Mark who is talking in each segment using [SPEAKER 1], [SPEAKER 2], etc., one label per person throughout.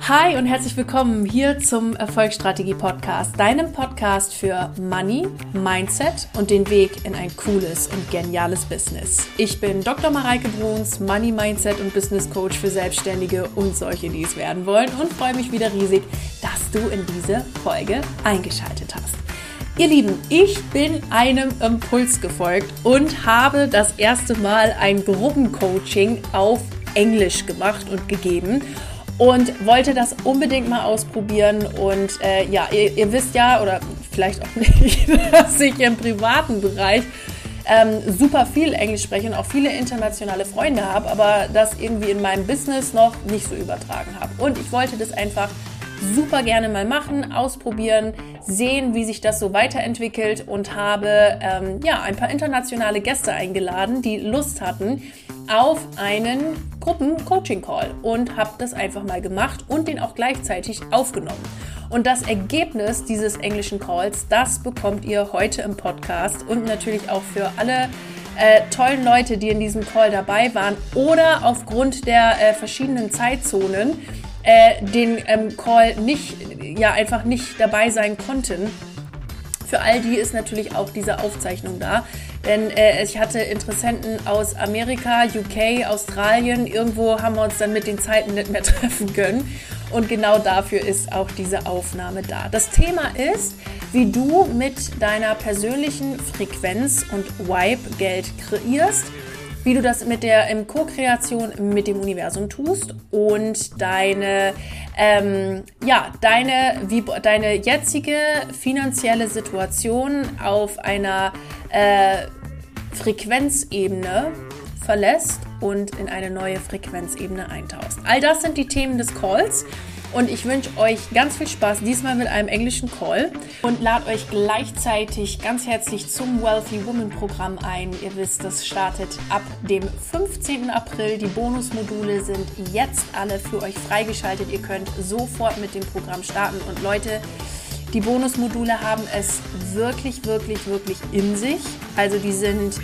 [SPEAKER 1] Hi und herzlich willkommen hier zum Erfolgsstrategie-Podcast, deinem Podcast für Money, Mindset und den Weg in ein cooles und geniales Business. Ich bin Dr. Mareike Bruns, Money, Mindset und Business Coach für Selbstständige und solche, die es werden wollen, und freue mich wieder riesig, dass du in diese Folge eingeschaltet hast. Ihr Lieben, ich bin einem Impuls gefolgt und habe das erste Mal ein Gruppencoaching auf Englisch gemacht und gegeben. Und wollte das unbedingt mal ausprobieren und ihr wisst ja, oder vielleicht auch nicht, dass ich im privaten Bereich super viel Englisch spreche und auch viele internationale Freunde habe, aber das irgendwie in meinem Business noch nicht so übertragen habe. Und ich wollte das einfach super gerne mal machen, ausprobieren, sehen, wie sich das so weiterentwickelt und habe ein paar internationale Gäste eingeladen, die Lust hatten auf einen Gruppen-Coaching-Call und habe das einfach mal gemacht und den auch gleichzeitig aufgenommen. Und das Ergebnis dieses englischen Calls, das bekommt ihr heute im Podcast und natürlich auch für alle tollen Leute, die in diesem Call dabei waren oder aufgrund der verschiedenen Zeitzonen den Call einfach nicht dabei sein konnten. Für all die ist natürlich auch diese Aufzeichnung da, denn ich hatte Interessenten aus Amerika, UK, Australien, irgendwo haben wir uns dann mit den Zeiten nicht mehr treffen können und genau dafür ist auch diese Aufnahme da. Das Thema ist, wie du mit deiner persönlichen Frequenz und Vibe Geld kreierst, wie du das mit der Co-Kreation mit dem Universum tust und deine jetzige finanzielle Situation auf einer Frequenzebene verlässt und in eine neue Frequenzebene eintauchst. All das sind die Themen des Calls. Und ich wünsche euch ganz viel Spaß, diesmal mit einem englischen Call, und lade euch gleichzeitig ganz herzlich zum Wealthy Woman Programm ein. Ihr wisst, das startet ab dem 15. April. Die Bonusmodule sind jetzt alle für euch freigeschaltet. Ihr könnt sofort mit dem Programm starten. Und Leute, die Bonusmodule haben es wirklich, wirklich, wirklich in sich. Also die sind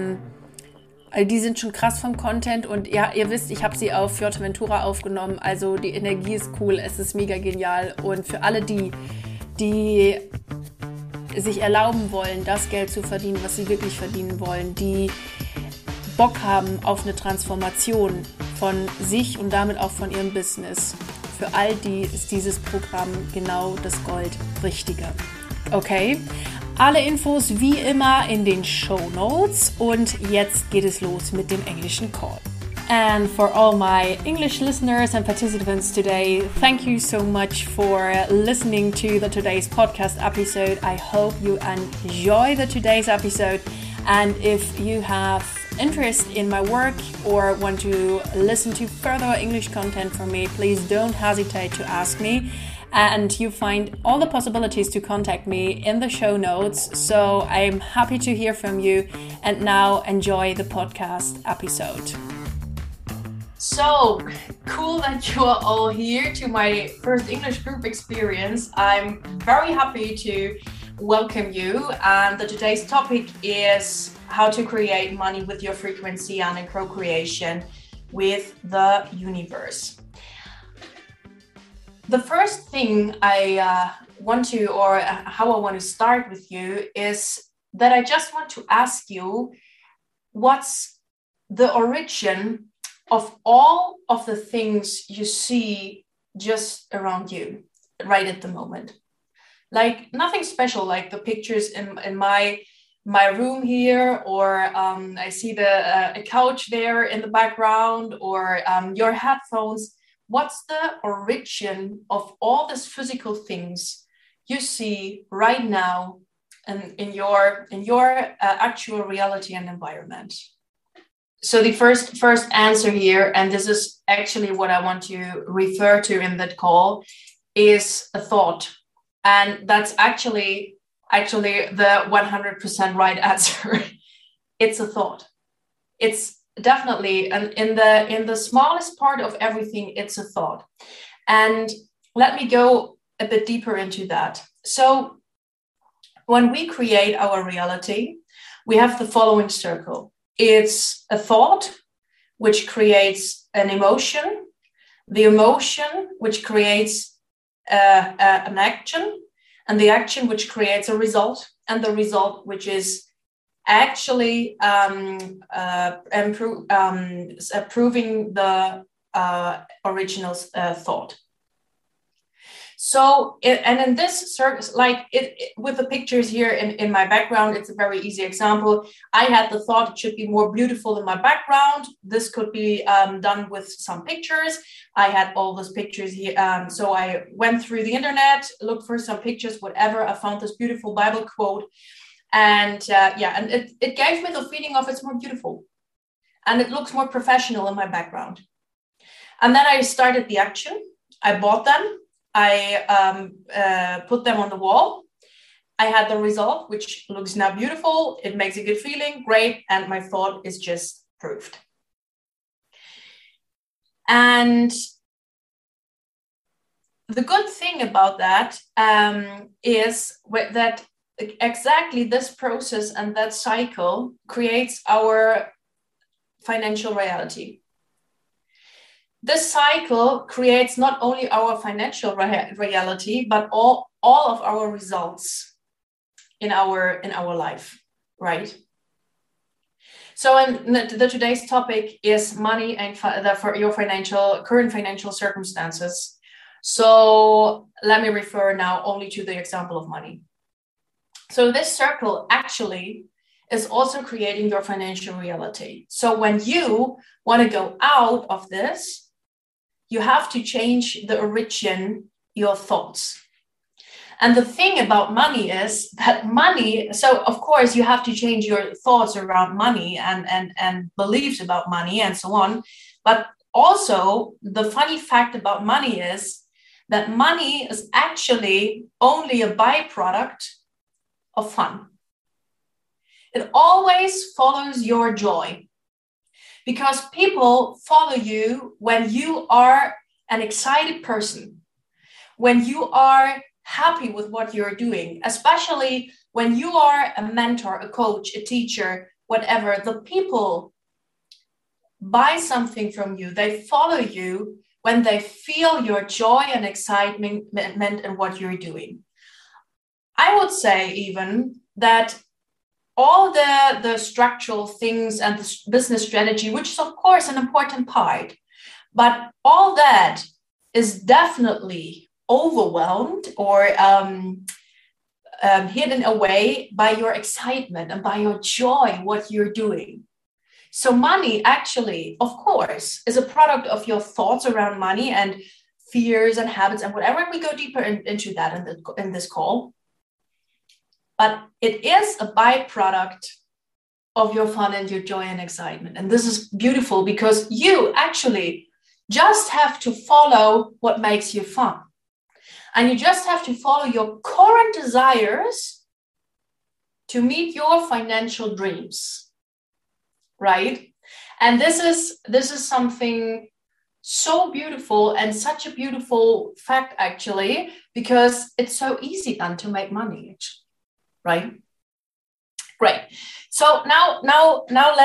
[SPEAKER 1] schon krass vom Content und ja, ihr wisst, ich habe sie auf Fuerteventura aufgenommen, also die Energie ist cool, es ist mega genial und für alle die sich erlauben wollen, das Geld zu verdienen, was sie wirklich verdienen wollen, die Bock haben auf eine Transformation von sich und damit auch von ihrem Business, für all die ist dieses Programm genau das Gold-Richtige. Okay? Alle Infos wie immer in den Shownotes und jetzt geht es los mit dem englischen Call. And for all my English listeners and participants today, thank you so much for listening to today's podcast episode. I hope you enjoy today's episode, and if you have interest in my work or want to listen to further English content from me, please don't hesitate to ask me. And you find all the possibilities to contact me in the show notes. So I'm happy to hear from you. And now enjoy the podcast episode. So cool that you are all here to my first English group experience. I'm very happy to welcome you. And today's topic is how to create money with your frequency and in co-creation with the universe. The first thing how I want to start with you is that I just want to ask you, what's the origin of all of the things you see just around you right at the moment? Like nothing special, like the pictures in my room here, or I see a couch there in the background, or your headphones. What's the origin of all these physical things you see right now and in your actual reality and environment? So the first answer here, and this is actually what I want to refer to in that call, is a thought. And that's actually the 100% right answer. It's a thought. It's definitely, and in the smallest part of everything, it's a thought. And let me go a bit deeper into that. So when we create our reality, we have the following circle. It's a thought, which creates an emotion,
[SPEAKER 2] the emotion, which creates an action, and the action, which creates a result, and the result, which is actually proving the original thought. So, and in this circus, like with the pictures here in my background, it's a very easy example. I had the thought it should be more beautiful in my background. This could be done with some pictures. I had all those pictures here. So I went through the internet, looked for some pictures, whatever. I found this beautiful Bible quote. And and it gave me the feeling of it's more beautiful. And it looks more professional in my background. And then I started the action. I bought them. I put them on the wall. I had the result, which looks now beautiful. It makes a good feeling, great. And my thought is just proved. And the good thing about that is that exactly this process and that cycle creates our financial reality. This cycle creates not only our financial reality, but all of our results in our life, right? So the today's topic is money and for your current financial circumstances. So let me refer now only to the example of money. So this circle actually is also creating your financial reality. So when you want to go out of this, you have to change the origin, your thoughts. And the thing about money is that money, so of course you have to change your thoughts around money and beliefs about money and so on. But also the funny fact about money is that money is actually only a byproduct of fun. It always follows your joy. Because people follow you when you are an excited person, when you are happy with what you're doing, especially when you are a mentor, a coach, a teacher, whatever. The people buy something from you. They follow you when they feel your joy and excitement in what you're doing. I would say even that all the structural things and the business strategy, which is of course an important part, but all that is definitely overwhelmed or hidden away by your excitement and by your joy, what you're doing. So money actually, of course, is a product of your thoughts around money and fears and habits and whatever. We go deeper into that in this call. But it is a byproduct of your fun and your joy and excitement. And this is beautiful because you actually just have to follow what makes you fun. And you just have to follow your current desires to meet your financial dreams, right? And this is something so beautiful and such a beautiful fact, actually, because it's so easy then to make money, right? Great. So now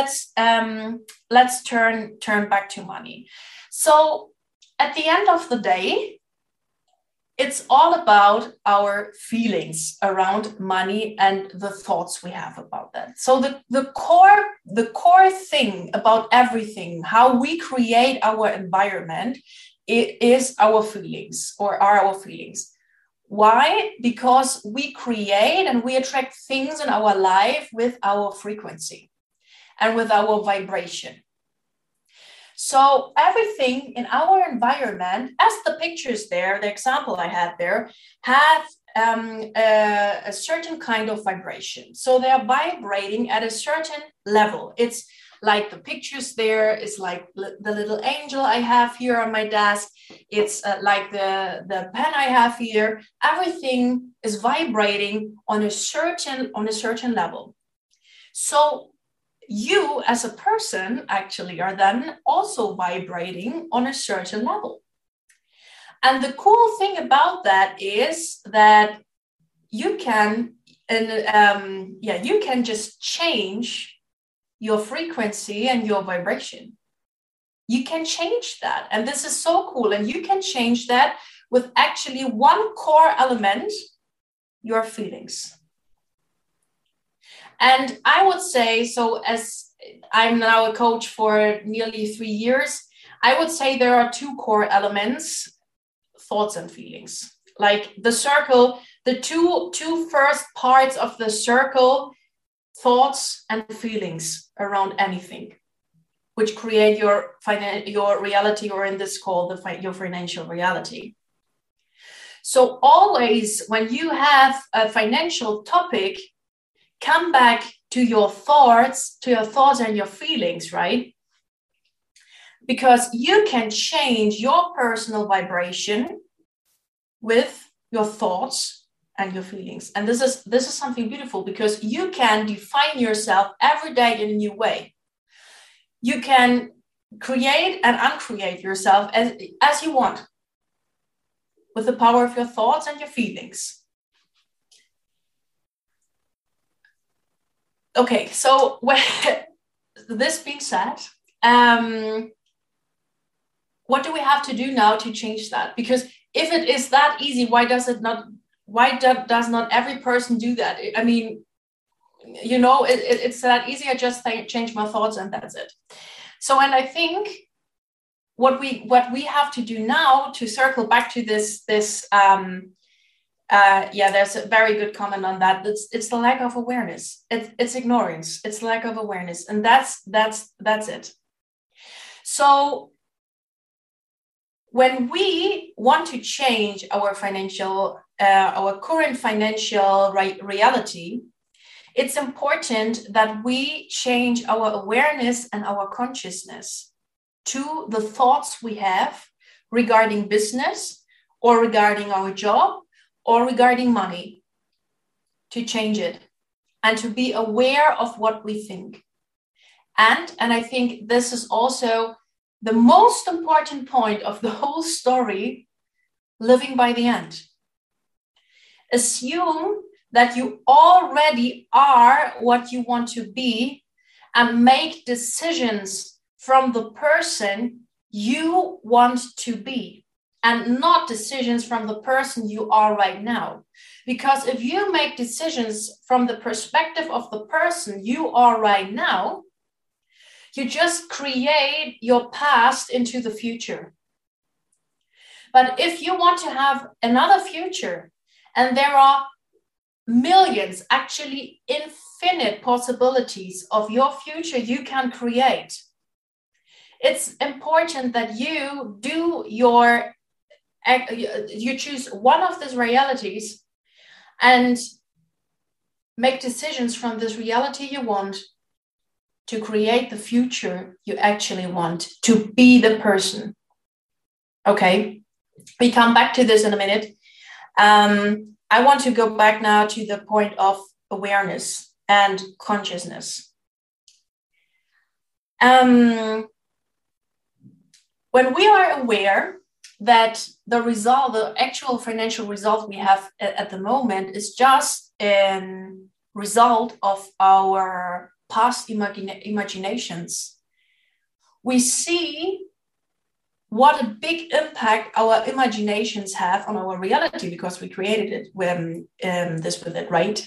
[SPEAKER 2] let's turn back to money. So at the end of the day, it's all about our feelings around money and the thoughts we have about that. So the core thing about everything, how we create our environment, is our feelings or are our feelings. Why? Because we create and we attract things in our life with our frequency and with our vibration. So everything in our environment, as the pictures there, the example I had there, have a certain kind of vibration. So they are vibrating at a certain level. It's like the pictures there is like the little angel I have here on my desk. It's like the pen I have here. Everything is vibrating on a certain level. So you as a person actually are then also vibrating on a certain level. And the cool thing about that is that you can just change your frequency and your vibration. you can change that. And this is so cool. And you can change that with actually one core element, your feelings. And I would say, so as I'm now a coach for nearly 3 years, I would say there are two core elements, thoughts and feelings. Like the circle, the two first parts of the circle, thoughts and feelings around anything, which create your reality, or in this call, your financial reality. So always when you have a financial topic, come back to your thoughts and your feelings, right? Because you can change your personal vibration with your thoughts and your feelings. And this is something beautiful, because you can define yourself every day in a new way. You can create and uncreate yourself as you want, with the power of your thoughts and your feelings. Okay, so this being said, what do we have to do now to change that? Because if it is that easy, why does not every person do that? I mean, you know, it's that easy. I just change my thoughts and that's it. So, and I think what we have to do now to circle back to this there's a very good comment on that. It's the lack of awareness. It's ignorance. It's lack of awareness, and that's it. So when we want to change our current financial reality, it's important that we change our awareness and our consciousness to the thoughts we have regarding business, or regarding our job, or regarding money, to change it and to be aware of what we think. And I think this is also the most important point of the whole story, living by the end. Assume that you already are what you want to be, and make decisions from the person you want to be, and not decisions from the person you are right now. Because if you make decisions from the perspective of the person you are right now, you just create your past into the future. But if you want to have another future, and there are millions, actually infinite possibilities of your future you can create, it's important that you choose one of these realities and make decisions from this reality you want to create the future you actually want, to be the person. Okay, we come back to this in a minute. I want to go back now to the point of awareness and consciousness. When we are aware that the actual financial result we have at the moment is just a result of our past imaginations, we see what a big impact our imaginations have on our reality, because we created it with it, right?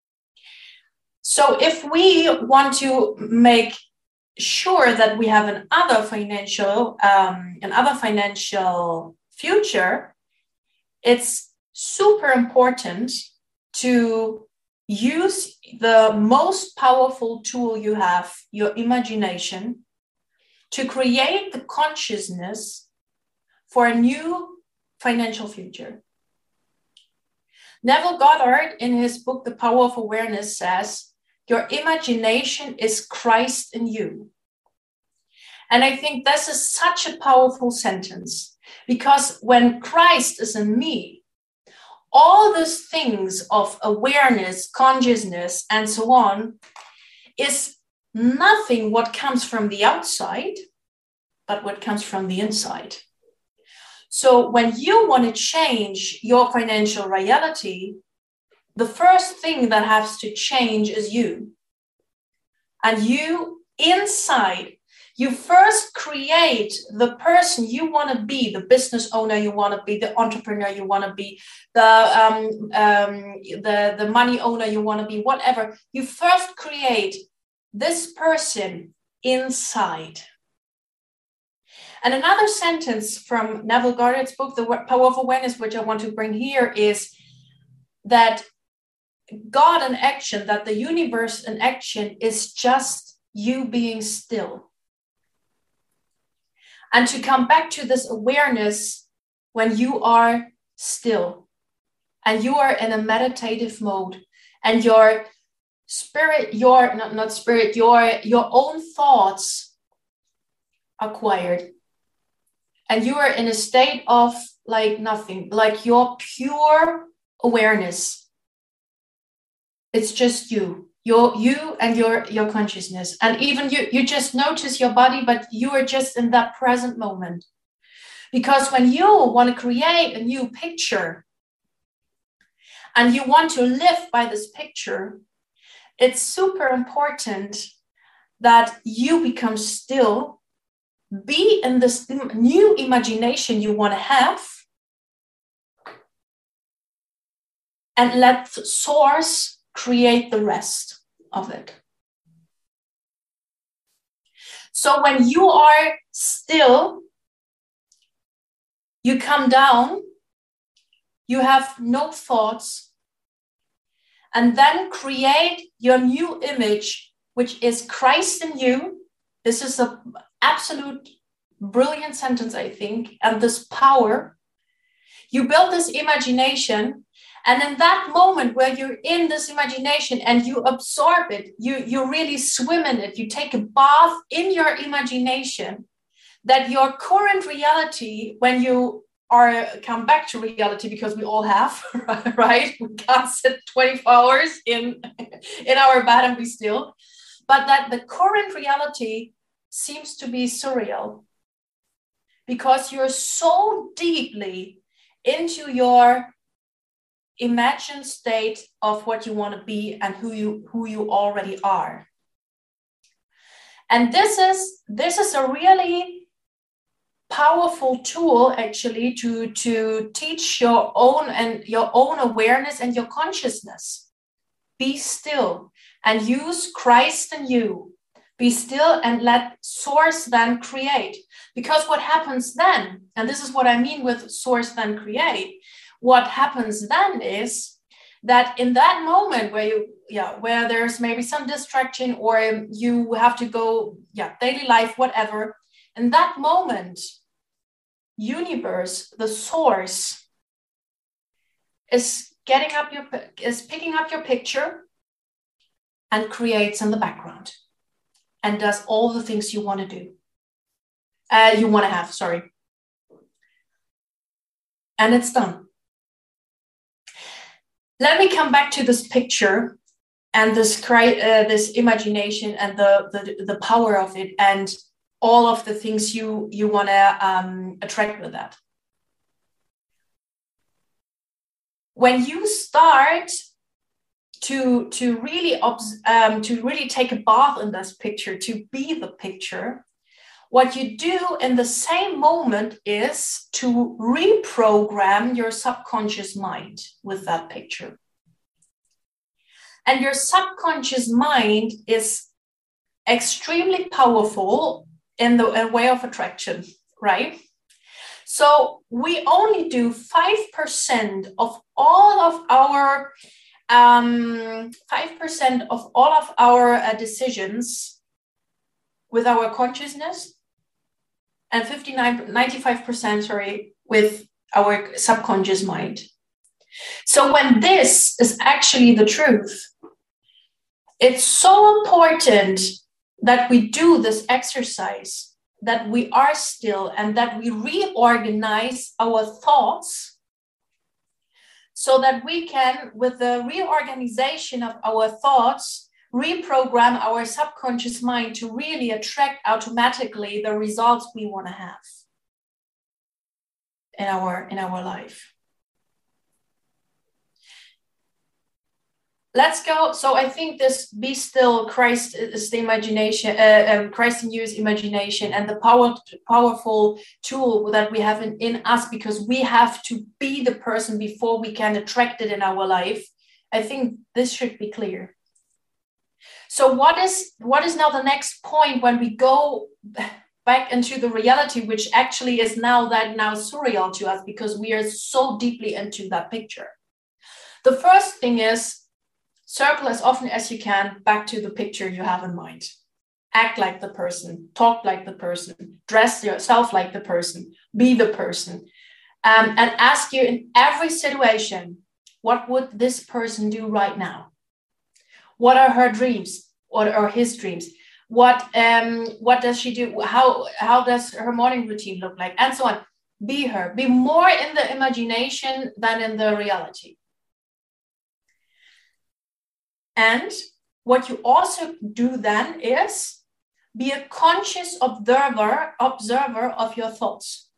[SPEAKER 2] So if we want to make sure that we have another financial future, it's super important to use the most powerful tool you have, your imagination, to create the consciousness for a new financial future. Neville Goddard, in his book, The Power of Awareness, says, your imagination is Christ in you. And I think this is such a powerful sentence, because when Christ is in me, all these things of awareness, consciousness, and so on is nothing what comes from the outside, but what comes from the inside. So when you want to change your financial reality, the first thing that has to change is you. And you inside, You first create the person you want to be, the business owner you want to be, the entrepreneur you want to be, the money owner you want to be, whatever. You first create this person inside. And another sentence from Neville Goddard's book, The Power of Awareness, which I want to bring here, is that God in action, that the universe in action is just you being still. And to come back to this awareness when you are still and you are in a meditative mode and your spirit, your own thoughts are quiet and you are in a state of like nothing, like your pure awareness. It's just you and your consciousness. And even you just notice your body, but you are just in that present moment. Because when you want to create a new picture and you want to live by this picture, it's super important that you become still, be in this new imagination you want to have, and let the source create the rest of it. So when you are still, you come down, you have no thoughts, and then create your new image, which is Christ in you. This is an absolute brilliant sentence, I think, and this power. You build this imagination. And in that moment where you're in this imagination and you absorb it, you really swim in it, you take a bath in your imagination, that your current reality, when you come back to reality, because we all have, right? We can't sit 24 hours in our bed and be still, but that the current reality seems to be surreal because you're so deeply into your imagined state of what you want to be and who you already are. And this is a really powerful tool actually to teach your own awareness and your consciousness. Be still and use Christ in you. Be still and let source then create. Because what happens then, and this is what I mean with source then create, what happens then is that in that moment where there's maybe some distraction or you have to go, daily life, whatever, in that moment, universe, the source, is picking up your picture and creates in the background and does all the things you want to do. You want to have, sorry. And it's done. Let me come back to this picture and this imagination and the power of it and all of the things you want to attract with that. When you start to really take a bath in this picture, to be the picture, what you do in the same moment is to reprogram your subconscious mind with that picture. And your subconscious mind is extremely powerful in the way of attraction, right? So we only do 5% of all of our 5% of all of our decisions with our consciousness, and 95% with our subconscious mind. So when this is actually the truth, it's so important that we do this exercise, that we are still and that we reorganize our thoughts so that we can, with the reorganization of our thoughts, reprogram our subconscious mind to really attract automatically the results we want to have in our life. let's go. So I think this be still, Christ is the imagination, Christ in you is imagination, and the powerful tool that we have in us, because we have to be the person before we can attract it in our life. I think this should be clear. So what is now the next point when we go back into the reality, which actually is now surreal to us because we are so deeply into that picture? The first thing is, circle as often as you can back to the picture you have in mind. Act like the person, talk like the person, dress yourself like the person, be the person. And ask you in every situation, what would this person do right now? What are her dreams? What are his dreams? What does she do? How does her morning routine look like? And so on. Be her. Be more in the imagination than in the reality. And what you also do then is be a conscious observer of your thoughts.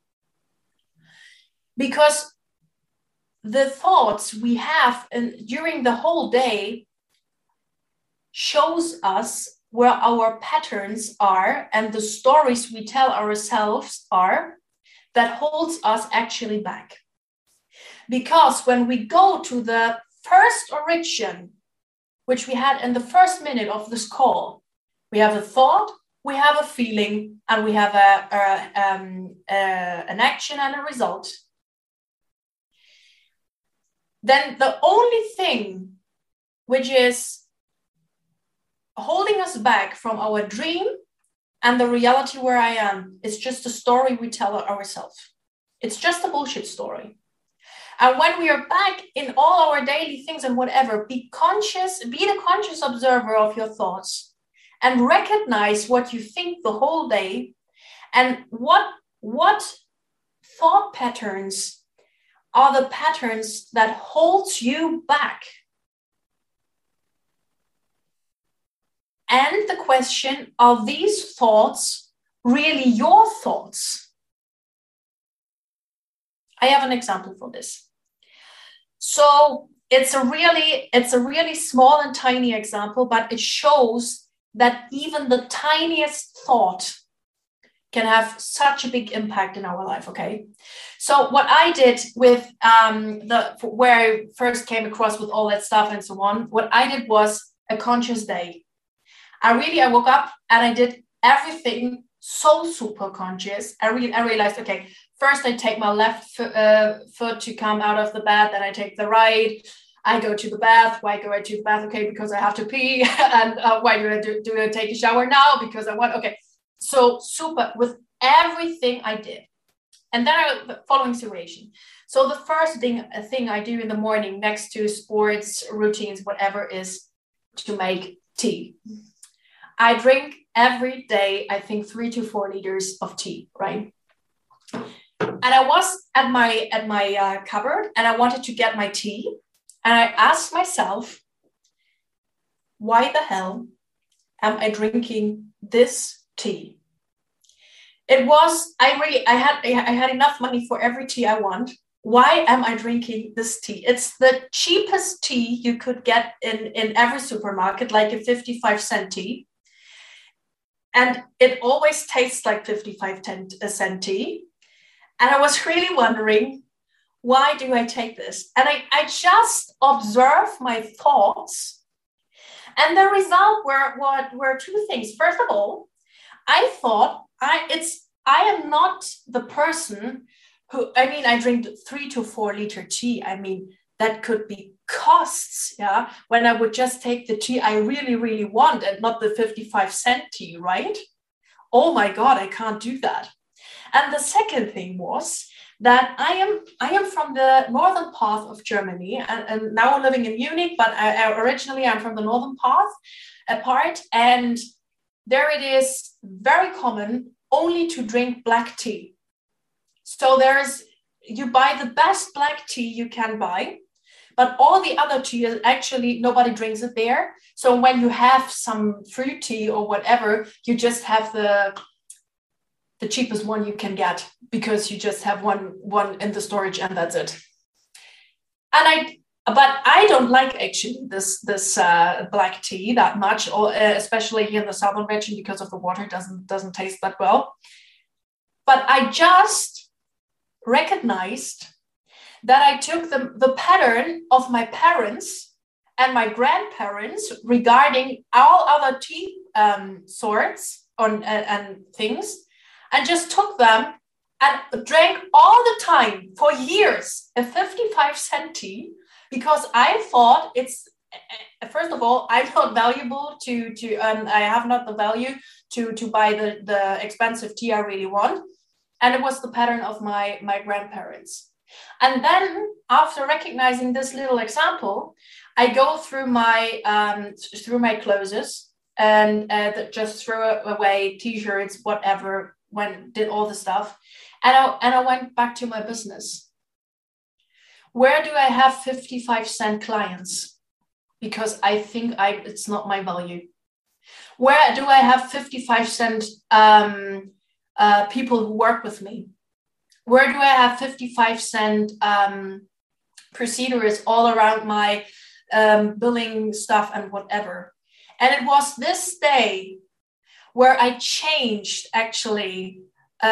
[SPEAKER 2] Because the thoughts we have during the whole day shows us where our patterns are and the stories we tell ourselves are that holds us actually back. Because when we go to the first origin, which we had in the first minute of this call, we have a thought, we have a feeling, and we have an action and a result. Then the only thing which is holding us back from our dream and the reality where I am is just a story we tell ourselves. It's just a bullshit story. And when we are back in all our daily things and whatever, be the conscious observer of your thoughts and recognize what you think the whole day and what thought patterns are the patterns that holds you back. And the question, are these thoughts really your thoughts? I have an example for this. So it's a really small and tiny example, but it shows that even the tiniest thought can have such a big impact in our life, okay? So what I did with where I first came across with all that stuff and so on, what I did was a conscious day. I woke up and I did everything so super conscious. I realized, okay, first I take my left foot to come out of the bed, then I take the right. I go to the bath. Why go to the bath? Okay, because I have to pee. And why do I take a shower now? Because I want, okay. So super with everything I did. And then the following situation. So the first thing I do in the morning next to sports, routines, whatever, is to make tea. I drink every day, I think 3 to 4 liters of tea, right? And I was at my cupboard and I wanted to get my tea. And I asked myself, why the hell am I drinking this tea? It was, I had enough money for every tea I want. Why am I drinking this tea? It's the cheapest tea you could get in every supermarket, like a 55-cent tea. And it always tastes like 55-cent tea. And I was really wondering, why do I take this? And I just observe my thoughts. And the result were two things. First of all, I thought I am not the person who, I drink 3 to 4 liter tea. That could be costs, yeah, when I would just take the tea I really, really want and not the 55-cent tea, right? Oh my God, I can't do that. And the second thing was that I am from the northern part of Germany and now I'm living in Munich, but originally I'm from the northern part, and there it is very common only to drink black tea. So you buy the best black tea you can buy, but all the other tea is actually, nobody drinks it there. So when you have some fruit tea or whatever, you just have the cheapest one you can get because you just have one in the storage and that's it. And But I don't like actually this black tea that much, or especially here in the southern region, because of the water. Doesn't taste that well. But I just recognized that I took the pattern of my parents and my grandparents regarding all other tea sorts and things, and just took them and drank all the time for years a 55-cent tea, because I thought it's, first of all, I'm not valuable to I have not the value to buy the expensive tea I really want. And it was the pattern of my grandparents. And then after recognizing this little example, I go through my clothes and just throw away t-shirts, whatever, did all the stuff. And I went back to my business. Where do I have 55-cent clients? Because I think it's not my value. Where do I have 55-cent people who work with me? Where do I have 55-cent procedures all around my billing stuff and whatever? And it was this day where I changed actually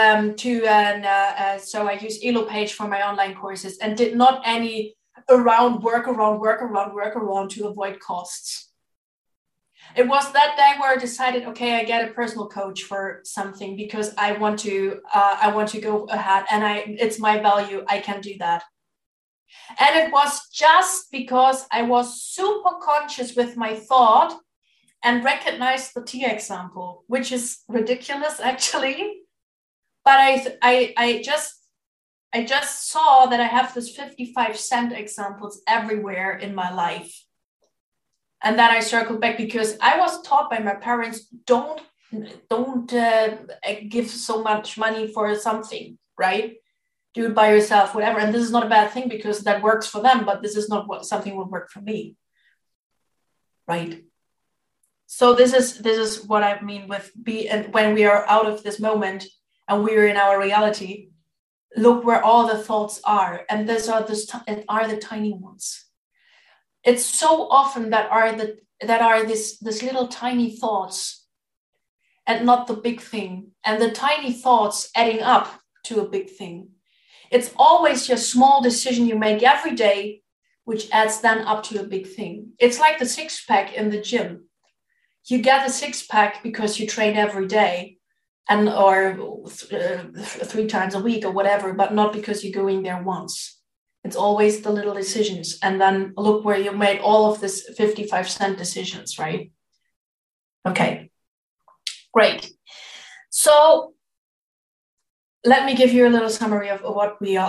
[SPEAKER 2] so I use Elopage for my online courses and did not any work around to avoid costs. It was that day where I decided, okay, I get a personal coach for something because I want to go ahead, and it's my value. I can do that. And it was just because I was super conscious with my thought and recognized the tea example, which is ridiculous actually. But I just saw that I have this 55-cent examples everywhere in my life. And then I circled back because I was taught by my parents, don't give so much money for something, right? Do it by yourself, whatever. And this is not a bad thing because that works for them, but this is not something will work for me, right? So this is what I mean with when we are out of this moment and we're in our reality, look where all the thoughts are. And these are the tiny ones. It's so often that are this little tiny thoughts and not the big thing. And the tiny thoughts adding up to a big thing. It's always your small decision you make every day, which adds then up to a big thing. It's like the 6-pack in the gym. You get a 6-pack because you train every day or 3 times a week or whatever, but not because you're going there once. It's always the little decisions. And then look where you made all of this 55-cent decisions, right? Okay, great. So let me give you a little summary of what we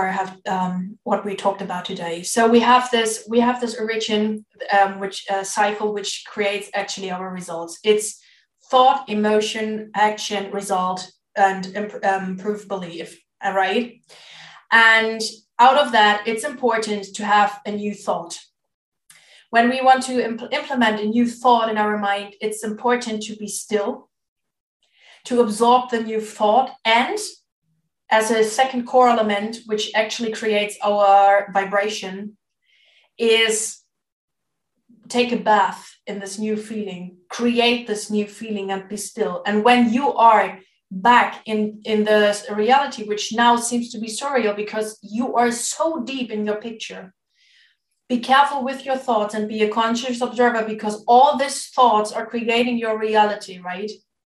[SPEAKER 2] what we talked about today. So we have this origin, cycle, which creates actually our results. It's thought, emotion, action, result, and improved belief, all right? And out of that, it's important to have a new thought. When we want to implement a new thought in our mind, it's important to be still, to absorb the new thought, and as a second core element, which actually creates our vibration, is take a bath in this new feeling, create this new feeling and be still. And when you are back in the reality, which now seems to be surreal because you are so deep in your picture, be careful with your thoughts and be a conscious observer, because all these thoughts are creating your reality, right?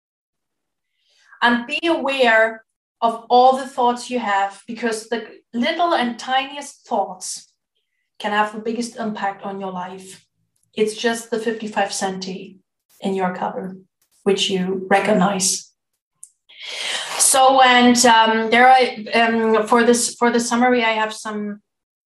[SPEAKER 2] And be aware of all the thoughts you have, because the little and tiniest thoughts can have the biggest impact on your life. It's just the 55-cent tea in your cupboard, which you recognize. So, and there are for the summary, I have some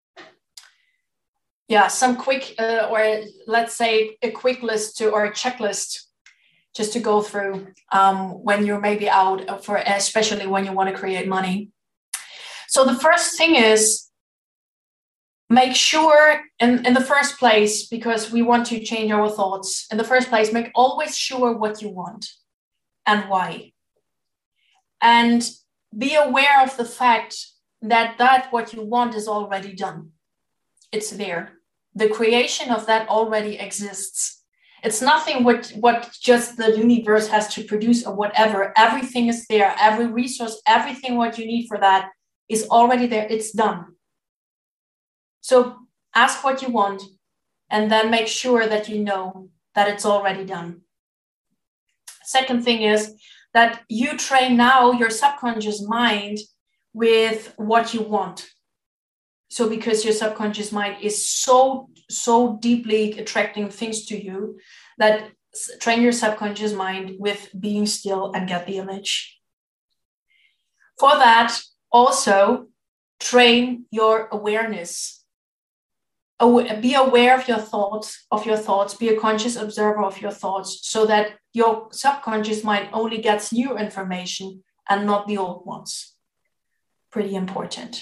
[SPEAKER 2] quick or let's say a quick list or a checklist just to go through when you're maybe out especially when you want to create money. So the first thing is, make sure in the first place, because we want to change our thoughts, in the first place, make always sure what you want and why. And be aware of the fact that what you want is already done. It's there. the creation of that already exists. It's nothing what just the universe has to produce or whatever. Everything is there. Every resource, everything what you need for that is already there. It's done. So ask what you want and then make sure that you know that it's already done. Second thing is that you train now your subconscious mind with what you want. So because your subconscious mind is so deeply attracting things to you, that train your subconscious mind with being still and get the image. For that, also train your awareness. Be aware of your thoughts, be a conscious observer of your thoughts, so that your subconscious mind only gets new information and not the old ones. Pretty important.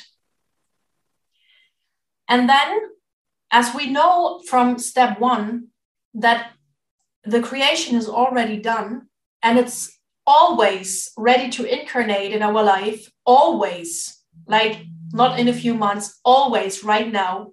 [SPEAKER 2] And then, as we know from step 1, that the creation is already done and it's always ready to incarnate in our life, always, like not in a few months, always right now.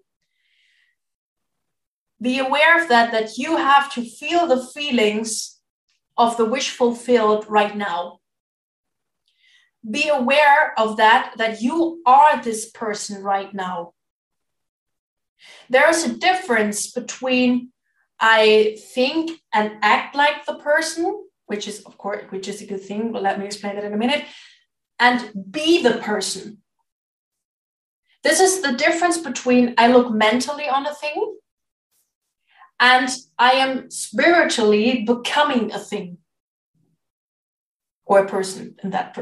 [SPEAKER 2] Be aware of that you have to feel the feelings of the wish fulfilled right now. Be aware of that you are this person right now. There is a difference between I think and act like the person, which is a good thing, but let me explain it in a minute, and be the person. This is the difference between I look mentally on a thing and I am spiritually becoming a thing or a person in that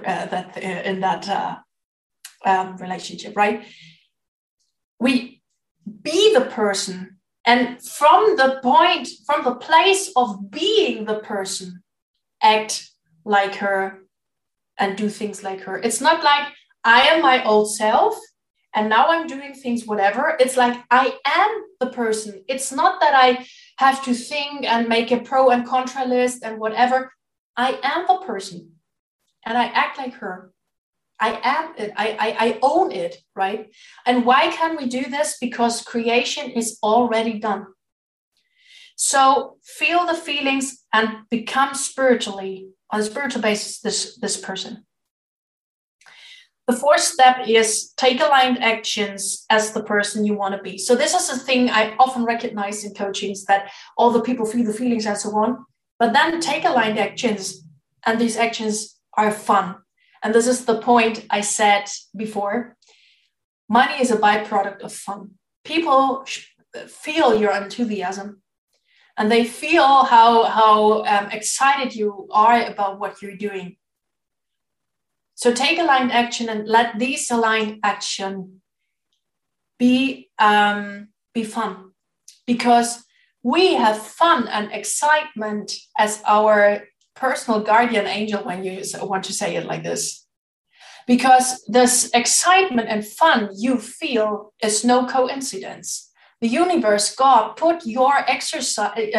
[SPEAKER 2] relationship, right? We be the person, and from the place of being the person, act like her and do things like her. It's not like I am my old self and now I'm doing things whatever. It's like I am the person. It's not that I have to think and make a pro and contra list and whatever. I am the person and I act like her. I am it. I own it, right? And why can we do this? Because creation is already done. So feel the feelings and become spiritually, on a spiritual basis, this person. The fourth step is take aligned actions as the person you want to be. So this is a thing I often recognize in coachings, that all the people feel the feelings and so on, but then take aligned actions, and these actions are fun. And this is the point I said before. Money is a byproduct of fun. People feel your enthusiasm and they feel how excited you are about what you're doing. So take aligned action and let these aligned action be fun, because we have fun and excitement as our personal guardian angel, when you want to say it like this, because this excitement and fun you feel is no coincidence. The universe, God, put your excitement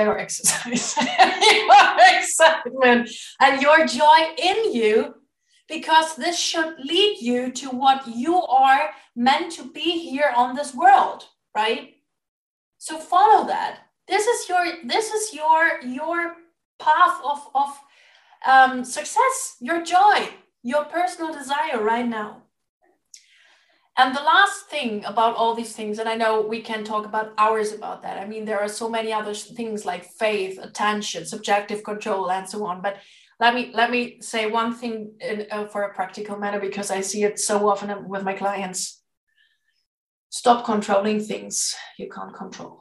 [SPEAKER 2] and your joy in you, because this should lead you to what you are meant to be here on this world, right? So follow that. This is your path of success, your joy, your personal desire right now. And the last thing about all these things, and I know we can talk about hours about that. I mean, there are so many other things like faith, attention, subjective control, and so on. But let me say one thing for a practical manner, because I see it so often with my clients. Stop controlling things you can't control.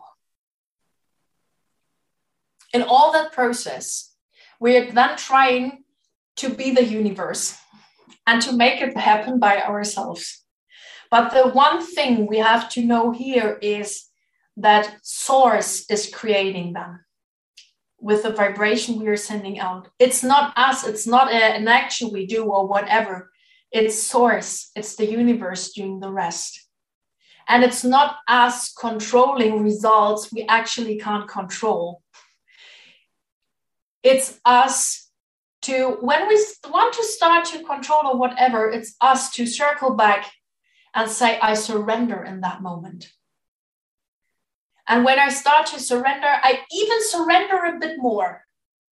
[SPEAKER 2] In all that process, we're then trying to be the universe and to make it happen by ourselves. But the one thing we have to know here is that source is creating them with the vibration we are sending out. It's not us. It's not an action we do or whatever. It's source. It's the universe doing the rest. And it's not us controlling results we actually can't control. It's us to, when we want to start to control or whatever, it's us to circle back and say, I surrender in that moment. And when I start to surrender, I even surrender a bit more,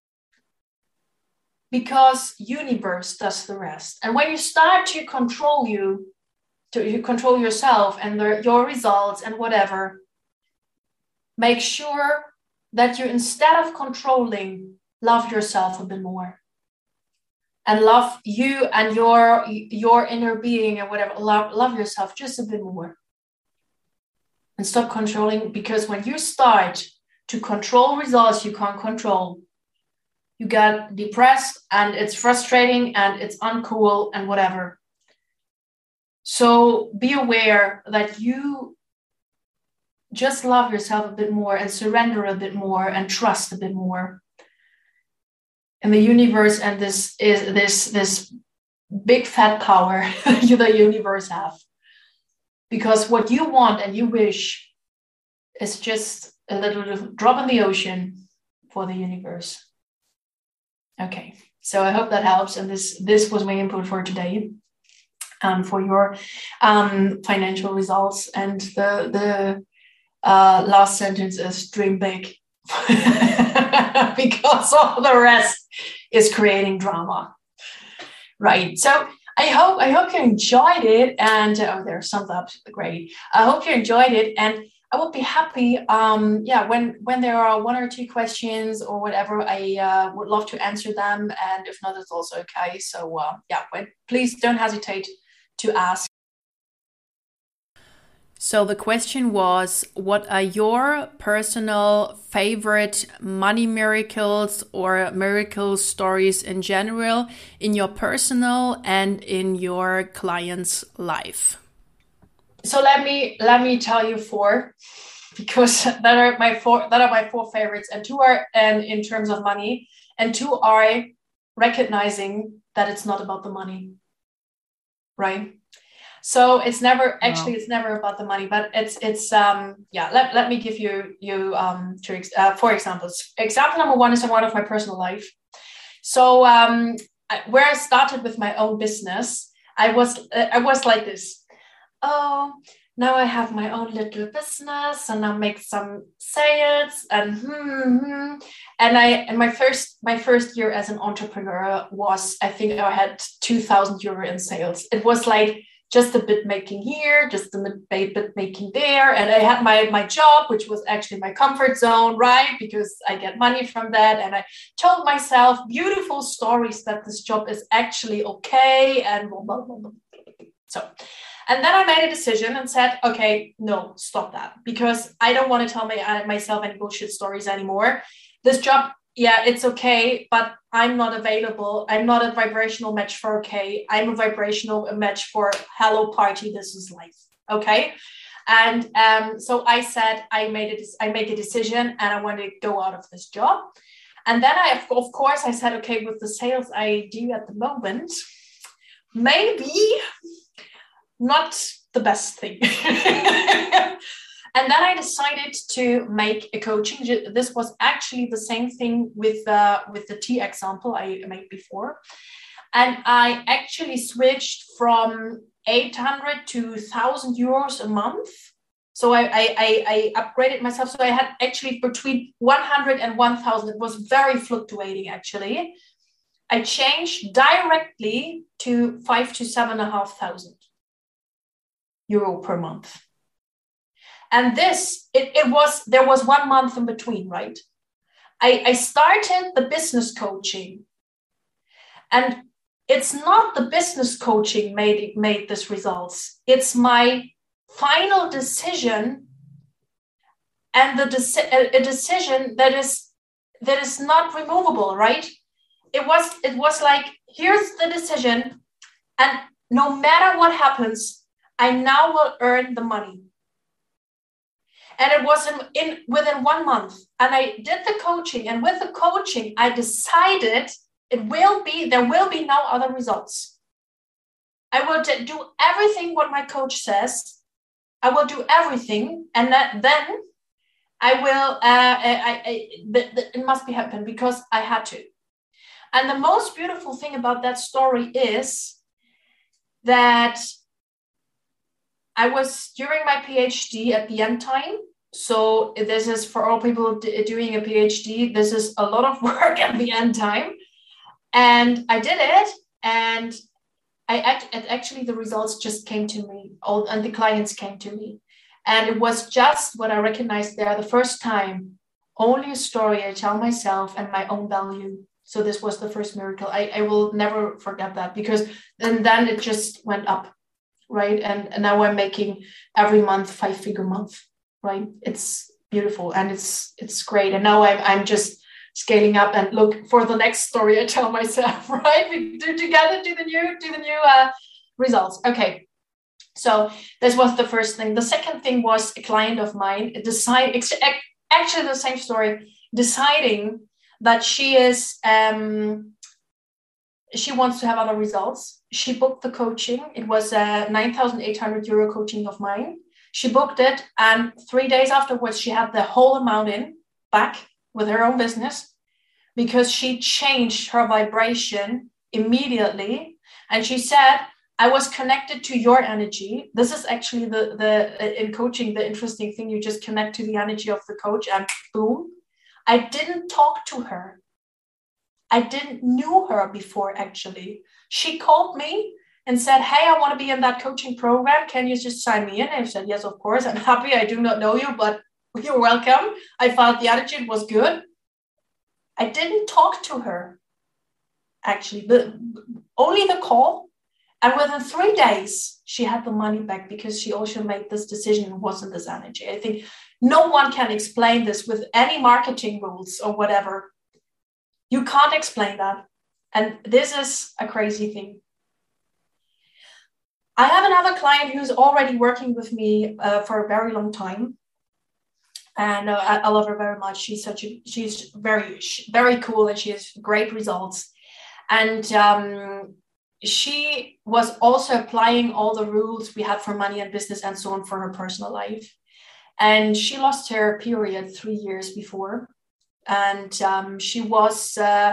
[SPEAKER 2] because universe does the rest. And when you start to control you control yourself and your results and whatever, make sure that you, instead of controlling, love yourself a bit more. And love you and your inner being and whatever. Love yourself just a bit more. And stop controlling, because when you start to control results you can't control, you get depressed and it's frustrating and it's uncool and whatever. So be aware that you just love yourself a bit more and surrender a bit more and trust a bit more. And the universe, and this big fat power the universe have. Because what you want and you wish is just a little drop in the ocean for the universe. Okay, so I hope that helps. And this was my input for today, for your financial results. And the last sentence is dream big, because all the rest is creating drama. Right. So I hope you enjoyed it. And there's some thumbs, great. I hope you enjoyed it. And I would be happy, when there are one or two questions or whatever, I would love to answer them. And if not, it's also okay. So please don't hesitate to ask.
[SPEAKER 1] So the question was, what are your personal favorite money miracles or miracle stories in general in your personal and in your client's life?
[SPEAKER 2] So let me tell you 4, because that are my 4 favorites, and 2 are in terms of money, and 2 are recognizing that it's not about the money, right? So it's never about the money, but it's let me give you 4 examples. Example number 1 is in one of my personal life. So where I started with my own business, I was like this. Oh, now I have my own little business and I make some sales and my first year as an entrepreneur was, I think I had 2,000 euro in sales. It was like just a bit making here, just a bit making there. And I had my job, which was actually my comfort zone, right? Because I get money from that. And I told myself beautiful stories that this job is actually okay. And blah, blah, blah. So, and then I made a decision and said, okay, no, stop that. Because I don't want to tell myself any bullshit stories anymore. This job, yeah, it's okay, but I'm not available. I'm not a vibrational match for okay. I'm a vibrational match for hello party. This is life. Okay. And so I said, I make a decision and I want to go out of this job. And then of course, I said, okay, with the sales I do at the moment, maybe not the best thing. And then I decided to make a coaching. This was actually the same thing with the tea example I made before. And I actually switched from 800 to 1,000 euros a month. So I upgraded myself. So I had actually between 100 and 1,000. It was very fluctuating, actually. I changed directly to 5,000 to 7,500 euro per month. And there was 1 month in between, right? I started the business coaching, and it's not the business coaching made this results. It's my final decision, and a decision that is not removable, right? It was like, here's the decision, and no matter what happens, I now will earn the money. And it was within 1 month. And I did the coaching. And with the coaching, I decided there will be no other results. I will do everything what my coach says. I will do everything. And then I will, it must be happen because I had to. And the most beautiful thing about that story is that I was during my PhD at the end time. So this is for all people doing a PhD. This is a lot of work at the end time. And I did it. And actually the results just came to me, and the clients came to me. And it was just what I recognized there the first time, only a story I tell myself and my own value. So this was the first miracle. I will never forget that, because then it just went up, right? And now I'm making every month 5-figure month, right? It's beautiful and it's great. And now I'm just scaling up and look for the next story I tell myself, right? We do together, do the new results. Okay. So this was the first thing. The second thing was a client of mine actually the same story, deciding that she wants to have other results. She booked the coaching. It was a 9,800 euro coaching of mine. She booked it, and 3 days afterwards, she had the whole amount back with her own business, because she changed her vibration immediately. And she said, I was connected to your energy. This is actually the in coaching, the interesting thing. You just connect to the energy of the coach and boom. I didn't talk to her. I didn't know her before, actually. She called me and said, hey, I want to be in that coaching program. Can you just sign me in? I said, yes, of course. I'm happy. I do not know you, but you're welcome. I felt the attitude was good. I didn't talk to her, actually, but only the call. And within 3 days, she had the money back, because she also made this decision and wasn't this energy. I think no one can explain this with any marketing rules or whatever. You can't explain that. And this is a crazy thing. I have another client who's already working with me for a very long time. And I love her very much. She's very, very cool, and she has great results. And she was also applying all the rules we had for money and business and so on for her personal life. And she lost her period 3 years before. And she was,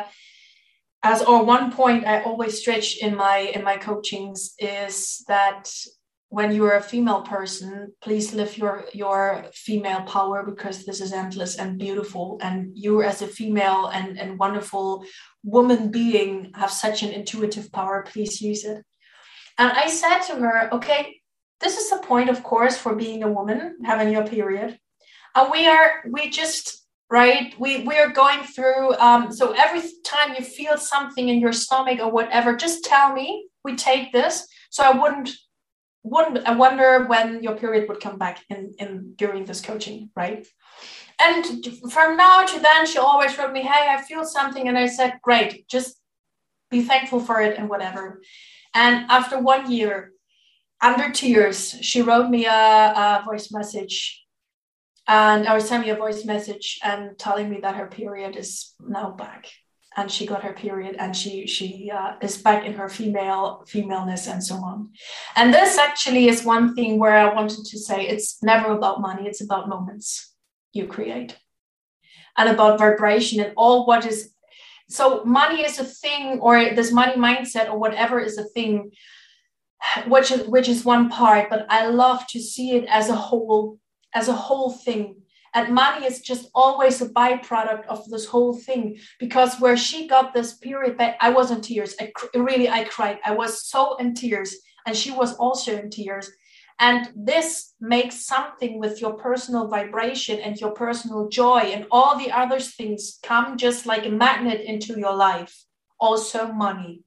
[SPEAKER 2] one point I always stretch in my coachings is that when you're a female person, please live your female power, because this is endless and beautiful. And you as a female and wonderful woman being have such an intuitive power. Please use it. And I said to her, okay, this is the point, of course, for being a woman, having your period. And we are going through, so every time you feel something in your stomach or whatever, just tell me, we take this. So I wonder when your period would come back in during this coaching, right? And from now to then, she always wrote me, hey, I feel something. And I said, great, just be thankful for it and whatever. And after 1 year, under tears, she wrote me a voice message. And I was sending me a voice message and telling me that her period is now back. And she got her period, and she is back in her femaleness and so on. And this actually is one thing where I wanted to say it's never about money. It's about moments you create and about vibration and all what is. So money is a thing, or this money mindset or whatever is a thing, which is one part. But I love to see it as a whole thing. And money is just always a byproduct of this whole thing, because where she got this period back, I was in tears. I cried. I was so in tears, and she was also in tears. And this makes something with your personal vibration and your personal joy, and all the other things come just like a magnet into your life. Also money.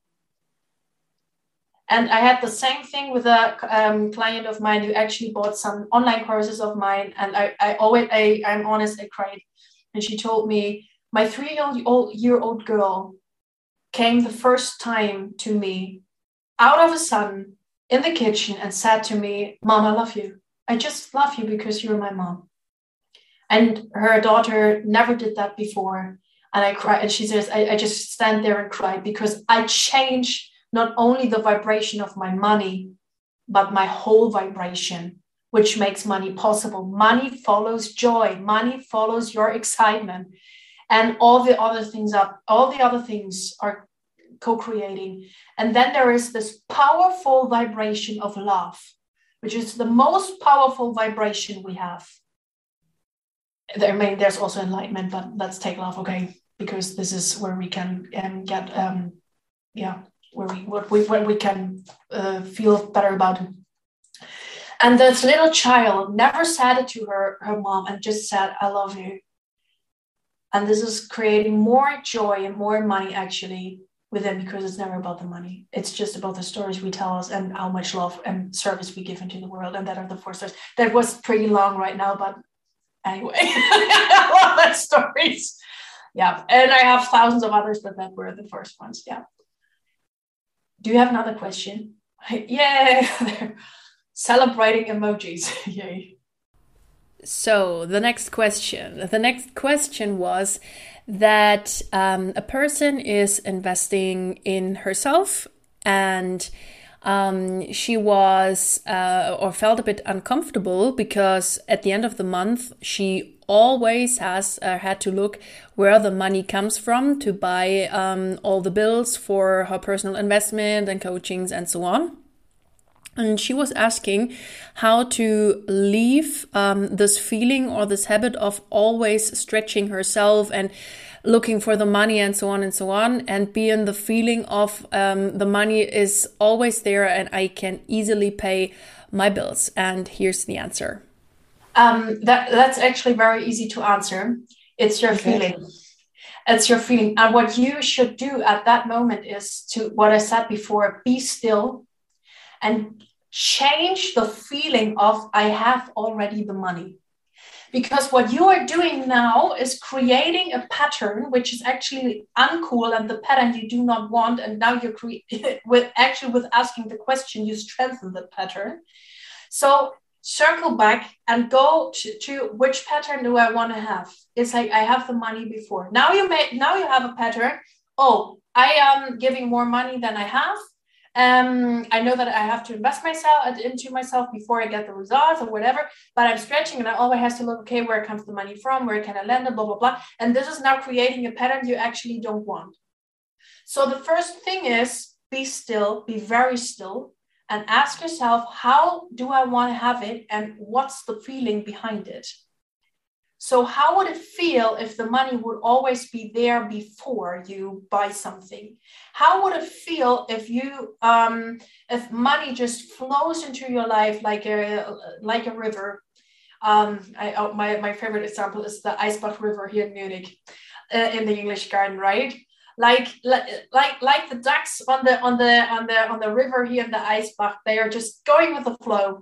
[SPEAKER 2] And I had the same thing with a client of mine who actually bought some online courses of mine. And I'm honest, I cried. And she told me, my 3-year-old girl came the first time to me out of the sun in the kitchen and said to me, Mom, I love you. I just love you because you're my mom. And her daughter never did that before. And I cried. And she says, I just stand there and cry, because I changed not only the vibration of my money, but my whole vibration, which makes money possible. Money follows joy. Money follows your excitement. And all the other things are co-creating. And then there is this powerful vibration of love, which is the most powerful vibration we have. there's also enlightenment, but let's take love, okay? Because this is where we can get, where we can feel better about it. And this little child never said it to her mom and just said, I love you. And this is creating more joy and more money actually with them, because it's never about the money. It's just about the stories we tell us and how much love and service we give into the world. And that are the 4 stories. That was pretty long right now, but anyway, I love that stories. Yeah. And I have thousands of others, but that were the first ones. Yeah. Do you have another question? Yeah. Celebrating emojis. Yay.
[SPEAKER 1] So the next question was that a person is investing in herself, and she was or felt a bit uncomfortable because at the end of the month she always has had to look where the money comes from to buy all the bills for her personal investment and coachings and so on. And she was asking how to leave this feeling or this habit of always stretching herself and looking for the money and so on, and be in the feeling of the money is always there and I can easily pay my bills. And here's the answer.
[SPEAKER 2] That's actually very easy to answer. It's your feeling. It's your feeling. And what you should do at that moment is to, what I said before, be still and change the feeling of I have already the money. Because what you are doing now is creating a pattern which is actually uncool and the pattern you do not want. And now you're with asking the question, you strengthen the pattern. So circle back and go to which pattern do I want to have? It's like I have the money before. Now you have a pattern. Oh, I am giving more money than I have. I know that I have to invest into myself before I get the results or whatever, but I'm stretching and I always have to look, okay, where comes the money from? Where can I lend it? Blah, blah, blah. And this is now creating a pattern you actually don't want. So the first thing is be still, be very still, and ask yourself, how do I want to have it? And what's the feeling behind it? So how would it feel if the money would always be there before you buy something? How would it feel if if money just flows into your life like a river? My favorite example is the Eisbach River here in Munich, in the English Garden, right? Like the ducks on the river here in the Eisbach, they are just going with the flow,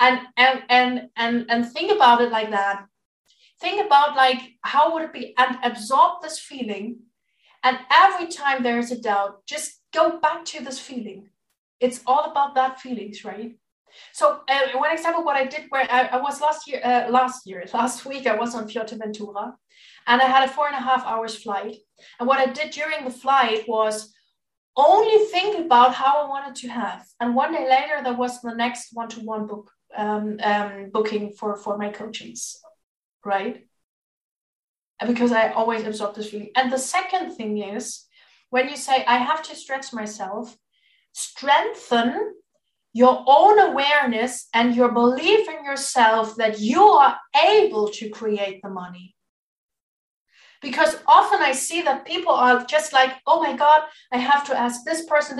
[SPEAKER 2] and think about it like that. Think about like, how would it be, and absorb this feeling. And every time there is a doubt, just go back to this feeling. It's all about that feelings, right? So one example, what I did where I was last week, I was on Fuerteventura and I had a 4.5 hours flight. And what I did during the flight was only think about how I wanted to have. And one day later, there was the next one-to-one booking for my coachings. Right? Because I always absorb this feeling. And the second thing is, when you say, I have to stretch myself, strengthen your own awareness and your belief in yourself that you are able to create the money. Because often I see that people are just like, oh my God, I have to ask this person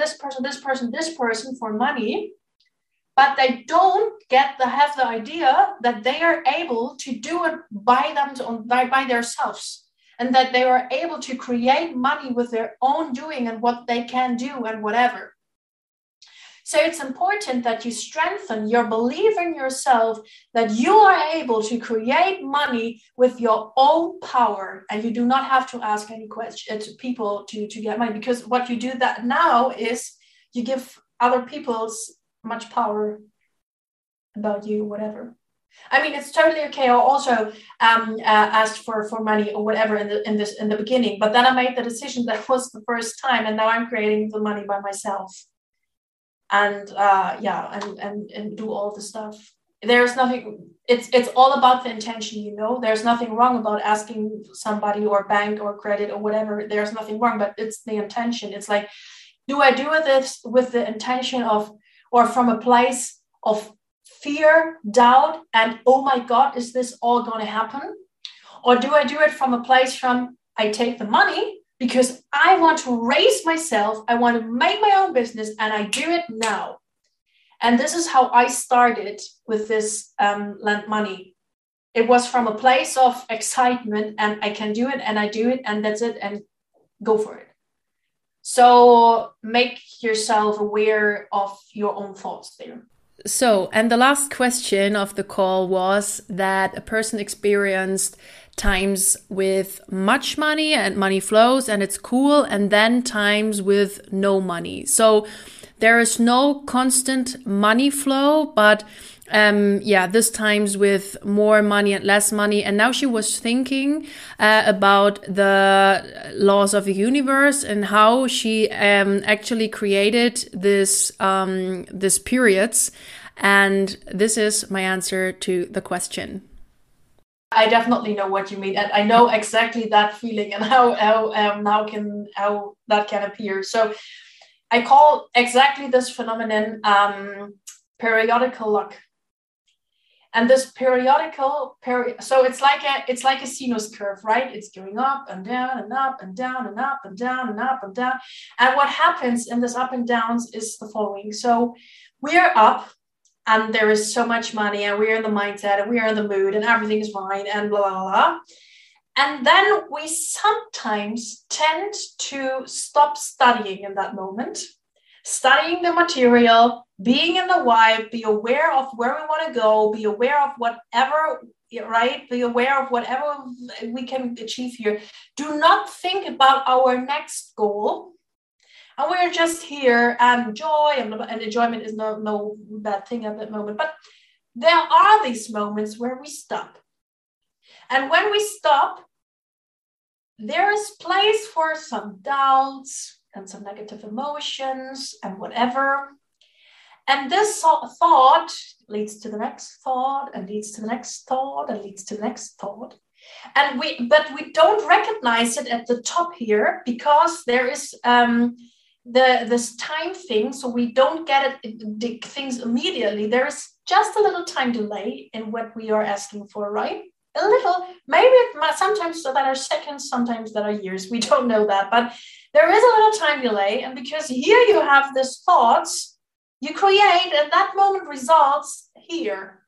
[SPEAKER 2] for money. But they don't have the idea that they are able to do it by themselves, and that they are able to create money with their own doing and what they can do and whatever. So it's important that you strengthen your belief in yourself that you are able to create money with your own power, and you do not have to ask any questions to people to get money, because what you do that now is you give other people's much power about you, whatever. I mean, it's totally okay. I also asked for money or whatever in the beginning, but then I made the decision that was the first time, and now I'm creating the money by myself, and and do all the stuff. There's nothing. It's all about the intention, you know. There's nothing wrong about asking somebody or bank or credit or whatever. There's nothing wrong, but it's the intention. It's like, do I do this with the intention of, or from a place of fear, doubt, and oh my God, is this all going to happen? Or do I do it from a place from I take the money because I want to raise myself, I want to make my own business, and I do it now. And this is how I started with this Lend Money. It was from a place of excitement, and I can do it, and I do it, and that's it, and go for it. So make yourself aware of your own thoughts there.
[SPEAKER 1] So, and the last question of the call was that a person experienced times with much money and money flows and it's cool, and then times with no money. So there is no constant money flow, but this times with more money and less money. And now she was thinking about the laws of the universe and how she actually created this periods. And this is my answer to the question.
[SPEAKER 2] I definitely know what you mean, and I know exactly that feeling and how that can appear. So I call exactly this phenomenon periodical luck. And this so it's like a sinus curve, right? It's going up and down and up and down and up and down and up and down. And what happens in this up and downs is the following. So we're up, and there is so much money, and we're in the mindset, and we're in the mood, and everything is fine, and blah, blah, blah. And then we sometimes tend to stop studying in that moment, studying the material, being in the vibe, be aware of where we want to go, be aware of whatever, right? Be aware of whatever we can achieve here. Do not think about our next goal. And we're just here and enjoy, and enjoyment is no bad thing at that moment. But there are these moments where we stop. And when we stop, there is place for some doubts and some negative emotions and whatever. And this thought leads to the next thought and leads to the next thought and leads to the next thought. But we don't recognize it at the top here because there is this time thing, so we don't get it things immediately. There is just a little time delay in what we are asking for, right? A little, maybe sometimes that are seconds, sometimes that are years. We don't know that, but there is a little time delay. And because here you have these thoughts, you create at that moment results here.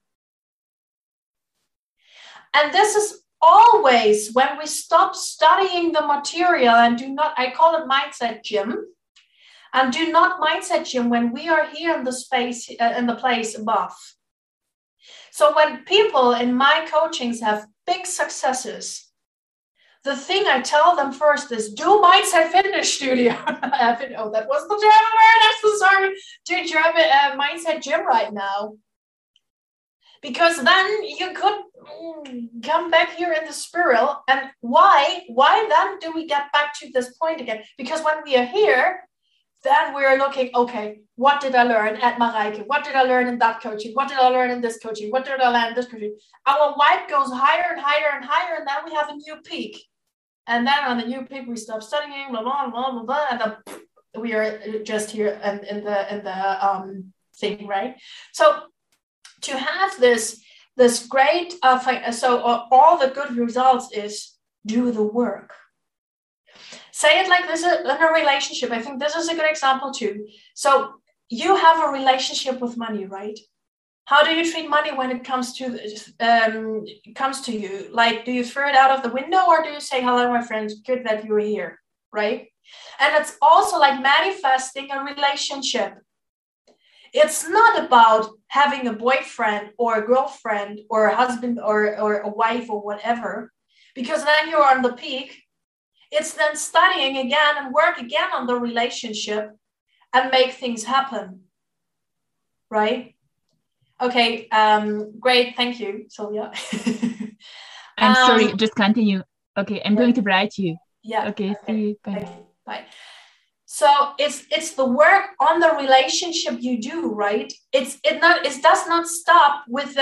[SPEAKER 2] And this is always when we stop studying the material and do not, I call it mindset gym. And do not mindset gym when we are here in the space, in the place above. So when people in my coachings have big successes, the thing I tell them first is do Mindset Fitness Studio. Oh, that was the German word. I'm so sorry. Do German Mindset Gym right now. Because then you could come back here in the spiral. And why then do we get back to this point again? Because when we are here, then we're looking, okay, what did I learn at Mareike? What did I learn in that coaching? What did I learn in this coaching? What did I learn in this coaching? Our vibe goes higher and higher and higher, and then we have a new peak. And then on the new peak, we stop studying, blah, blah, blah, blah, blah, and then we are just here in the thing, right? So to have this great, all the good results is do the work. Say it like this in a relationship. I think this is a good example too. So you have a relationship with money, right? How do you treat money when it comes to you? Like, do you throw it out of the window, or do you say, hello, my friend, good that you're here, right? And it's also like manifesting a relationship. It's not about having a boyfriend or a girlfriend or a husband or a wife or whatever, because then you're on the peak. It's then studying again and work again on the relationship and make things happen, right? Okay, great, thank you, Sylvia.
[SPEAKER 3] I'm sorry, just continue. Okay, I'm going to write you.
[SPEAKER 2] Yeah.
[SPEAKER 3] Okay, see you. Bye.
[SPEAKER 2] Bye. So it's the work on the relationship you do, right? It does not stop with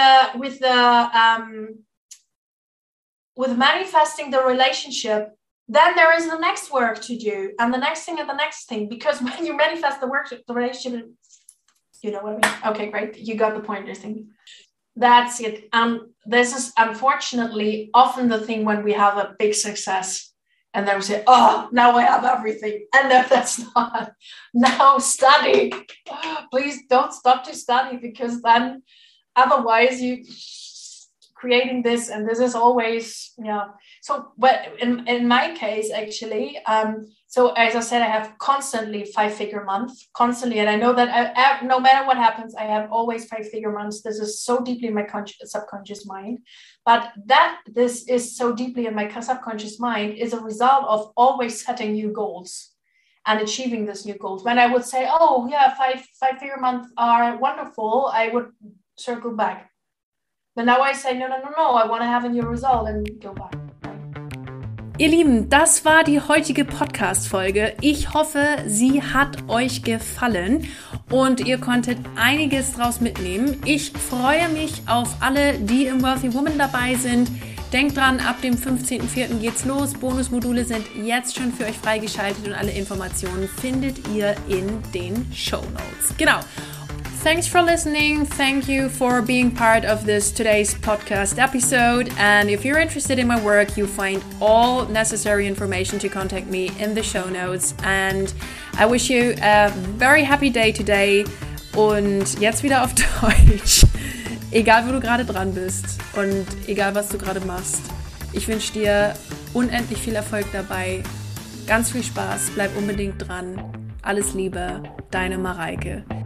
[SPEAKER 2] manifesting the relationship. Then there is the next work to do, and the next thing and the next thing. Because when you manifest the relationship, you know what I mean? Okay, great. You got the point, I think. that's it. This is unfortunately often the thing when we have a big success. And then we say, oh, now I have everything. And no, that's not. Now study. Please don't stop to study, because then otherwise you creating this, and this is always, So, but in my case, actually, so as I said, I have constantly 5-figure months, constantly. And I know that no matter what happens, I have always 5-figure months. This is so deeply in my subconscious mind. But that this is so deeply in my subconscious mind is a result of always setting new goals and achieving these new goals. When I would say, oh, yeah, 5-figure months are wonderful, I would circle back. But now I say, no, I want to have a new result and go back.
[SPEAKER 1] Ihr Lieben, das war die heutige Podcast-Folge. Ich hoffe, sie hat euch gefallen und ihr konntet einiges draus mitnehmen. Ich freue mich auf alle, die im Wealthy Woman dabei sind. Denkt dran, ab dem 15.04. geht's los. Bonusmodule sind jetzt schon für euch freigeschaltet und alle Informationen findet ihr in den Shownotes. Genau. Thanks for listening. Thank you for being part of today's podcast episode. And if you're interested in my work, you find all necessary information to contact me in the show notes. And I wish you a very happy day today. Und jetzt wieder auf Deutsch. Egal, wo du gerade dran bist und egal, was du gerade machst. Ich wünsche dir unendlich viel Erfolg dabei. Ganz viel Spaß. Bleib unbedingt dran. Alles Liebe, deine Mareike.